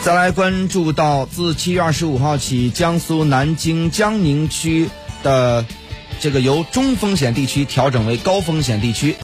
再来关注到自7月25号起，江苏南京江宁区的这个由中风险地区调整为高风险地区。